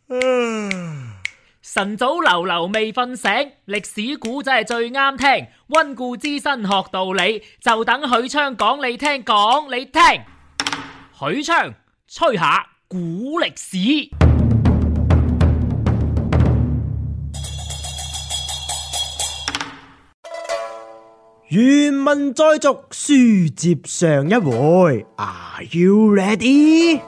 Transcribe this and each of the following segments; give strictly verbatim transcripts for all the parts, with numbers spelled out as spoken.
晨早流流未瞓醒，歷史古仔係最啱聽。溫故知新學道理，就等許昌講你聽，講你聽。許昌吹下古歷史。 原文再續，書接上一回。Are you ready？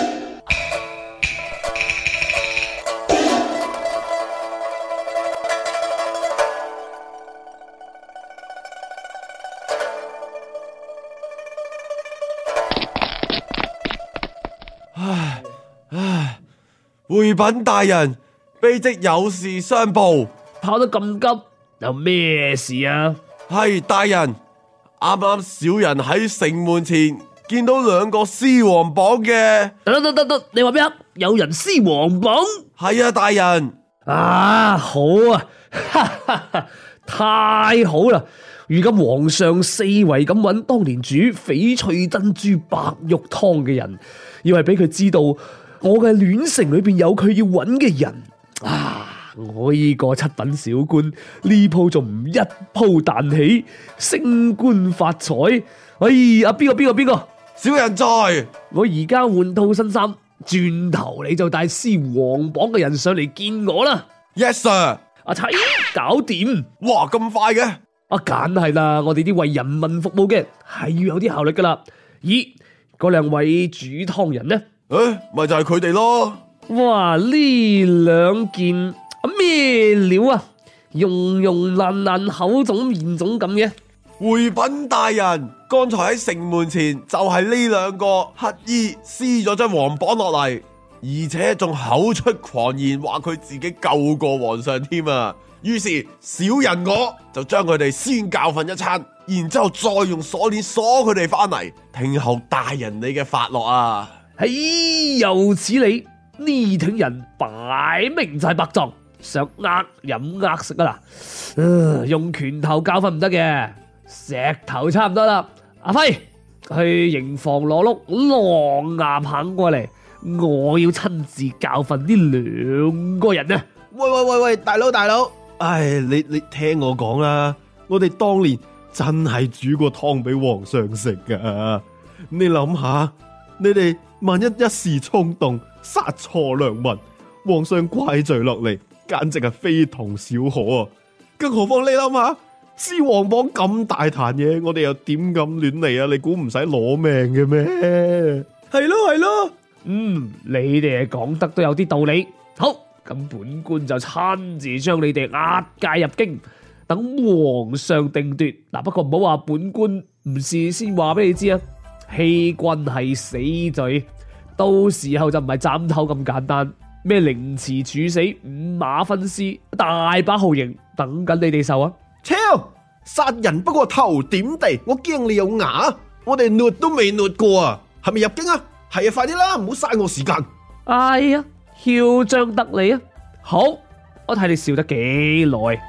唉唉，回稟大人，卑職有事相報。 跑得咁急，有咩事啊？ 係大人，啱啱小人喺城門前見到兩個獅王榜嘅。 得得得得，你話咩啊？有人獅王榜？ 係啊，大人。 啊，好啊，哈哈哈，太好啦！如今皇上四圍咁揾當年煮翡翠珍珠白玉湯嘅人，要係俾佢知道我嘅戀城裏邊有佢要揾嘅人啊！我呢個七品小官呢鋪仲唔一鋪彈起，升官發財？哎呀，邊個邊個邊個？ 小人在。 我而家換套新衫，轉頭你就帶獅王榜嘅人上嚟見我啦。 Yes sir。 阿齊，搞掂。 哇，咁快嘅？ 啊，梗係啦，我哋啲為人民服務嘅係要有啲效率噶啦。咦，嗰兩位煮湯人呢？ 誒，咪就係佢哋咯。 哇，呢兩件咩料啊？溶溶爛爛，口腫面腫咁嘅。 回稟大人，剛才喺城門前就係呢兩個乞兒撕咗張皇榜落嚟，而且仲口出狂言，話佢自己救過皇上添啊！於是小人我就將佢哋先教訓一餐，然之後再用鎖鏈鎖佢哋翻嚟，聽候大人你嘅發落啊！ 嘿，又此理，呢挺人擺明就係白撞，想呃飲呃食啊啦、呃！用拳頭教訓唔得嘅，石頭差唔多啦。阿輝去營房攞碌狼牙棒過嚟，我要親自教訓呢兩個人啊！ 喂喂喂喂，大佬大佬， 唉，你你聽我講啦，我哋當年真係煮過湯俾皇上食噶。你諗下，你哋萬一一時衝動殺錯良民，皇上怪罪落嚟，簡直係非同小可啊！更何況你諗下，獅王榜咁大壇嘢，我哋又點敢亂嚟啊？你估唔使攞命嘅咩？ 係咯係咯， 嗯，你哋講得都有啲道理。好，咁本官就親自將你哋押解入京，等皇上定奪。嗱，不過唔好話本官唔事先話俾你知啊，欺君係死罪，到時候就唔係斬頭咁簡單，咩凌遲處死、五馬分屍，大把酷刑等緊你哋受啊！ 超殺人不過頭點地，我驚你有牙，我哋虐都未虐過啊！係咪入京啊？係啊，快啲啦，唔好嘥我時間。 哎呀，囂張得你啊！好，我睇你笑得幾耐。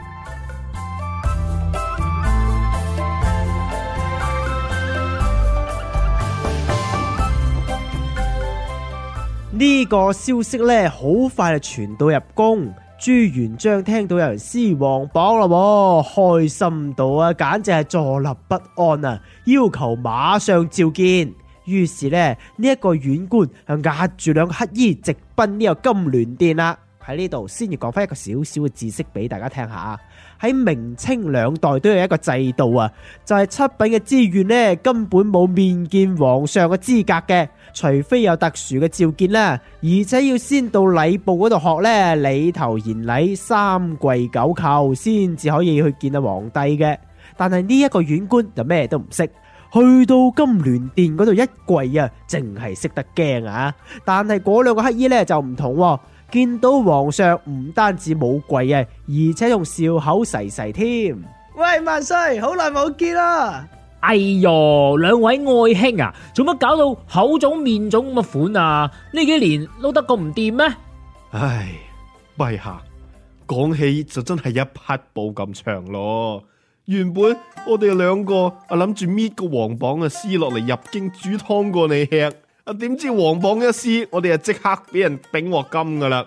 呢個消息咧，好快就傳到入宮。朱元璋聽到有人獅王榜啦，開心到啊，簡直係坐立不安啊！要求馬上召見。於是咧，呢、這、一個縣官就押住兩個乞兒直奔呢個金鑾殿啦。喺呢度先要講翻一個小小嘅知識俾大家聽下。喺明清兩代都有一個制度啊，就係、是、七品嘅資源呢，根本冇面見皇上嘅資格嘅，除非有特殊嘅召見啦，而且要先到禮部嗰度學呢，禮頭言禮，三跪九叩，先至可以去見阿皇帝嘅。但係呢一個縣官就咩都唔識，去到金鑾殿嗰度一跪啊，淨係識得驚啊！但係嗰兩個乞兒呢就唔同喎。見到皇上唔單止冇跪啊，而且仲笑口噬噬添。喂，萬歲，好耐冇見啦！ 哎喲，兩位愛卿啊，做乜搞到口腫面腫咁嘅款啊？呢幾年撈得咁唔掂咩？ 唉，陛下講起就真係一匹布咁長咯。原本我哋兩個啊諗住搣個皇榜嘅撕落嚟入京煮湯過你吃，啊點知皇榜一撕，我哋就即刻俾人頂鑊金噶啦！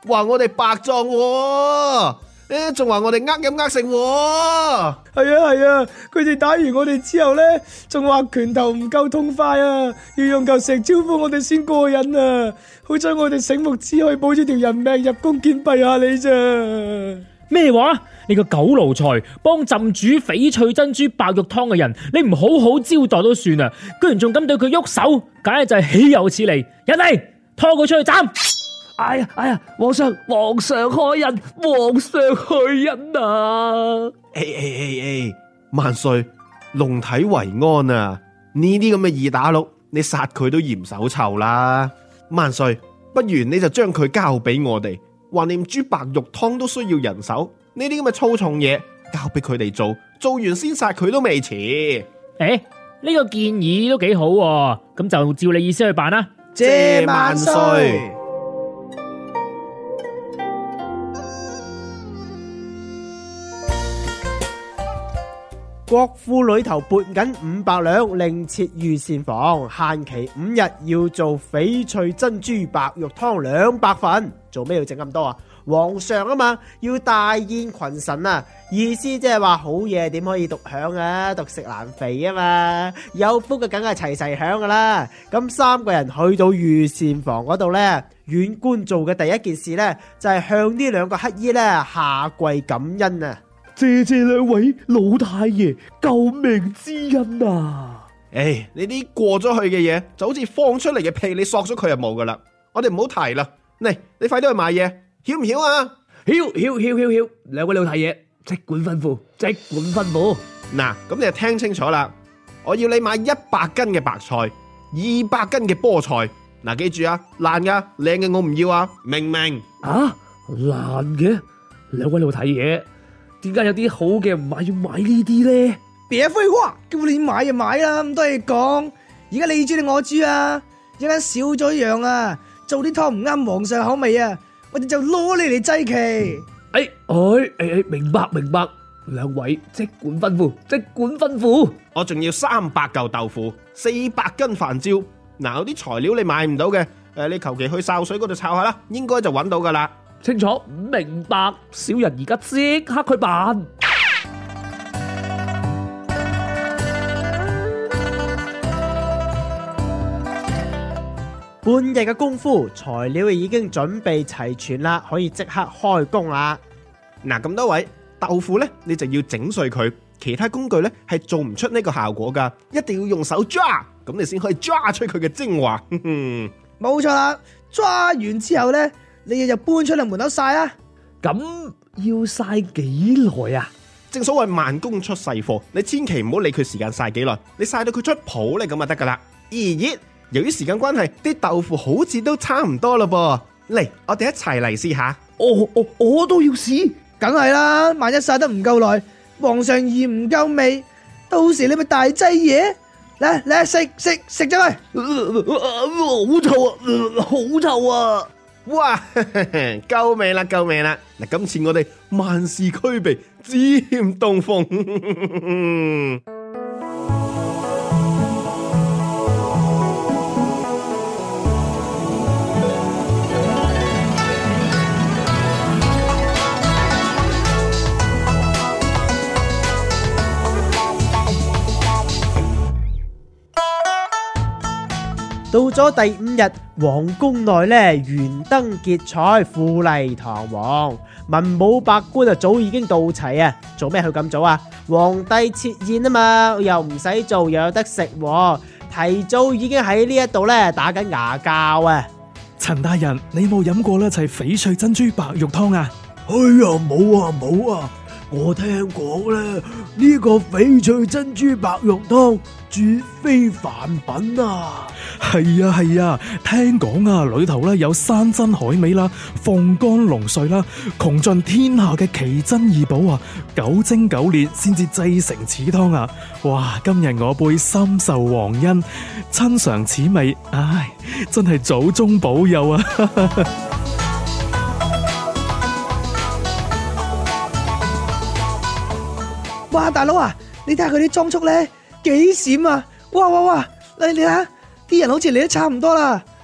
話我哋白撞喎，誒仲話我哋呃飲呃食喎。 係啊係啊，佢哋打完我哋之後咧，仲話拳頭唔夠痛快啊，要用嚿石招呼我哋先過癮啊！好彩我哋醒目，只可以保住條人命入宮見閉下你咋。 咩話？你個狗奴才，幫朕煮翡翠珍珠白玉湯嘅人，你唔好好招待都算啦，居然仲敢對佢喐手，簡直就係豈有此理！人嚟，拖佢出去斬！ 哎呀哎呀，皇上皇上開恩，皇上開恩啊！ 誒誒誒誒，萬歲，龍體為安啊！呢啲咁嘅二打六，你殺佢都嫌手臭啦。萬歲，不如你就將佢交俾我哋，橫掂煮白玉湯都需要人手，呢啲咁嘅粗重嘢交俾佢哋做，做完先殺佢都未遲。 誒，呢個建議都幾好喎，咁就照你意思去辦啦。 謝萬歲。 國庫裏頭撥緊五百兩，另設御膳房，限期五日，要做翡翠珍珠白玉湯兩百份。做咩要整咁多啊？皇上啊嘛，要大宴群臣啊，意思即係話好嘢點可以獨享啊？獨食難肥啊嘛，有福嘅梗係齊齊享噶啦。咁三個人去到御膳房嗰度呢，縣官做嘅第一件事呢，就係向呢兩個乞衣呢下跪感恩啊！ 謝謝兩位老太爺救命之恩啊！ 誒，呢啲過咗去嘅嘢就好似放出嚟嘅屁，你索咗佢就冇噶啦。我哋唔好提啦。嚟，你快啲去買嘢，曉唔曉啊？ 曉曉曉曉曉，兩位老太爺即管吩咐，即管吩咐。 嗱，咁你就聽清楚啦。我要你買一百斤嘅白菜，二百斤嘅菠菜。嗱，記住啊，爛噶，靚嘅我唔要啊，明唔明？ 啊，爛嘅，兩位老太爺。點解有啲好嘅唔買，要買呢啲咧？ 別廢話，叫你買就買啦，咁多嘢講。而家你煮定我煮啊？一間少咗一樣啊，做啲湯唔啱皇上口味啊，我哋就攞你嚟祭旗。 誒誒誒誒，明白明白，兩位即管吩咐，即管吩咐。 我仲要三百嚿豆腐，四百斤飯焦。嗱，有啲材料你買唔到嘅，誒，你求其去潲水嗰度抄下啦，應該就揾到噶啦。 清楚明白，小人而家即刻去辦。 半日嘅功夫，材料已經準備齊全啦，可以即刻開工啦。 嗱，咁多位豆腐呢，你就要整碎佢，其他工具呢係做唔出呢個效果噶，一定要用手抓，咁你先可以抓出佢嘅精華。 冇錯啦，抓完之後呢，你哋就搬出嚟門口曬啦。 咁要曬幾耐啊？ 正所謂慢工出細貨，你千祈唔好理佢時間曬幾耐，你曬到佢出泡咧咁就得噶啦。咦咦，由於時間關係，啲豆腐好似都差唔多咯噃。嚟，我哋一齊嚟試下。 我我我都要試， 梗係啦，萬一曬得唔夠耐，皇上嫌唔夠味，到時你咪大劑嘢。嚟嚟食食食咗佢， 好臭啊，好臭啊！ 哇，夠味啦，夠味啦！嗱，今次我哋萬事俱備，只欠東風。 到咗第五日，皇宮內咧懸燈結彩，富麗堂皇，文武百官啊早已經到齊啊！做咩去咁早啊？皇帝設宴啊嘛，又唔使做，又有得食，提早已經喺呢一度咧打緊牙骹啊！ 陳大人，你冇飲過呢齊翡翠珍珠白玉湯啊？ 哎呀，冇啊冇啊！我聽講咧，呢個翡翠珍珠白玉湯絕非凡品啊！ 係啊係啊，聽講啊，裏頭咧有山珍海味啦、鳳乾龍髓啦，窮盡天下嘅奇珍異寶啊，九蒸九煉先至製成此湯啊！哇，今日我輩深受皇恩，親嘗此味，唉，真係祖宗保佑啊！ 哇，大佬啊，你睇下佢啲裝束咧，幾閃啊！哇哇哇，你你睇下，啲人好似嚟得差唔多啦，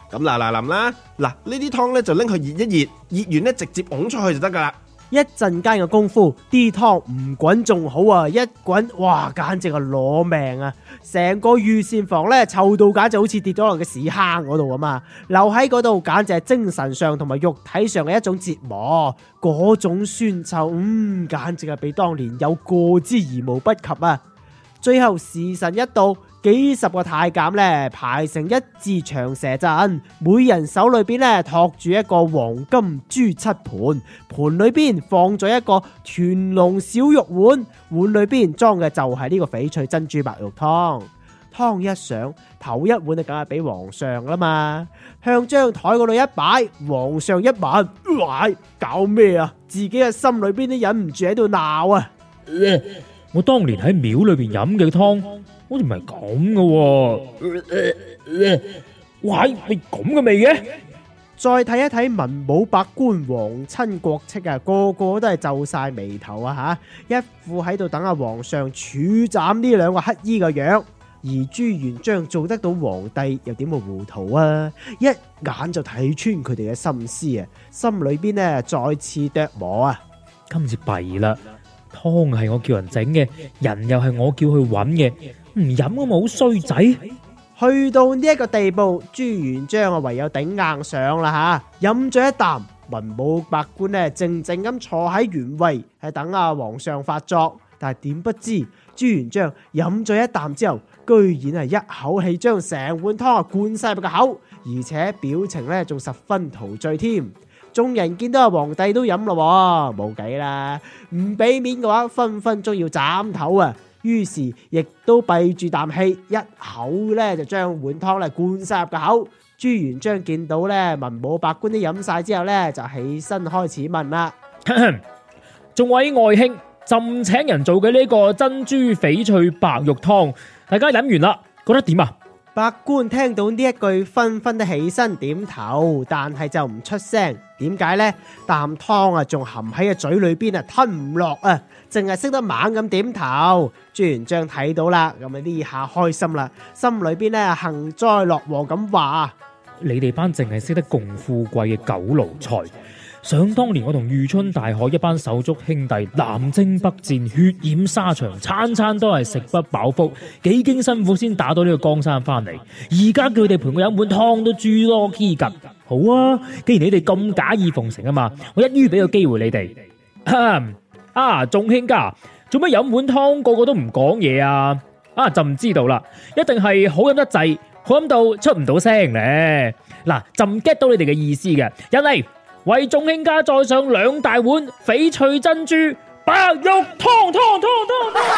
咁嗱嗱臨啦，嗱呢啲湯咧就拎去熱一熱，熱完咧直接㧬出去就得噶啦。 一陣間嘅功夫，啲湯唔滾仲好啊，一滾哇，簡直係攞命啊！成個御膳房咧臭到簡直好似跌咗落嘅屎坑嗰度咁啊！留喺嗰度簡直係精神上同埋肉體上嘅一種折磨，嗰種酸臭，嗯，簡直係比當年有過之而無不及啊！最後時辰一到，幾十個太監咧排成一字長蛇陣，每人手裏邊咧托住一個黃金豬七盤，盤裏邊放咗一個團龍小肉碗，碗裏邊裝嘅就係呢個翡翠珍珠白玉湯。湯一上，頭一碗就梗係俾皇上啦嘛，向張台嗰度一擺，皇上一聞，喂，搞咩啊？自己嘅心裏邊都忍唔住喺度鬧啊！ 我當年喺廟裏邊飲嘅湯，好似唔係咁嘅。喂，係咁嘅味嘅？ 再睇一睇文武百官、皇親國戚啊，個個都係皺晒眉頭啊吓，一副喺度等阿皇上處斬呢兩個乞衣嘅樣。而朱元璋做得到皇帝，又點會糊塗啊？一眼就睇穿佢哋嘅心思啊，心裏邊呢再次琢磨啊， 今次弊啦！湯係我叫人整嘅，人又係我叫去揾嘅，唔飲咁咪好衰仔。 去到呢一個地步，朱元璋啊唯有頂硬上啦吓，飲咗一啖，文武百官呢靜靜咁坐喺原位，係等阿皇上發作。但係點不知朱元璋飲咗一啖之後，居然係一口氣將成碗湯啊灌晒入個口，而且表情呢仲十分陶醉添。眾人見到阿皇帝都飲咯，冇計啦，唔俾面嘅話，分分鐘要斬頭啊！於是亦都閉住啖氣，一口咧就將碗湯咧灌晒入個口。朱元璋見到咧文武百官都飲晒之後咧，就起身開始問啦： 眾位外卿，朕請人做嘅呢個珍珠翡翠白玉湯，大家飲完啦，覺得點啊？ 百官聽到呢一句，紛紛都起身點頭，但係就唔出聲。點解呢？啖湯啊，仲含喺個嘴裏邊啊，吞唔落啊，淨係識得猛咁點頭。朱元璋睇到啦，咁啊呢下開心啦，心裏邊咧幸災樂禍咁話： 你哋班淨係識得共富貴嘅狗奴才！想當年我同裕春大海一班手足兄弟南征北戰，血染沙場，餐餐都係食不飽腹，幾經辛苦先打到呢個江山翻嚟。而家叫佢哋陪我飲碗湯都豬多黐吉。好啊，既然你哋咁假意奉承啊嘛，我一於俾個機會你哋。啊，眾卿家，做乜飲碗湯個個都唔講嘢啊？啊，就唔知道啦，一定係好飲得滯，好飲到出唔到聲咧。嗱，就唔 get 到你哋嘅意思嘅，人嚟。為眾卿家再上兩大碗翡翠珍珠白玉湯湯湯湯湯。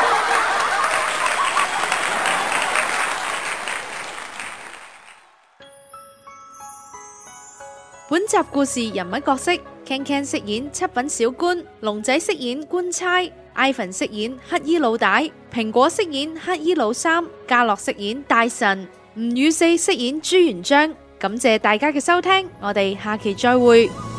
本集故事人物角色 Ken Ken 飾演七品小官，龍仔飾演官差，Ivan 飾演乞衣老大，蘋果飾演乞衣老三，嘉樂飾演大臣，吳宇四飾演朱元璋。感謝大家嘅收聽，我哋下期再會。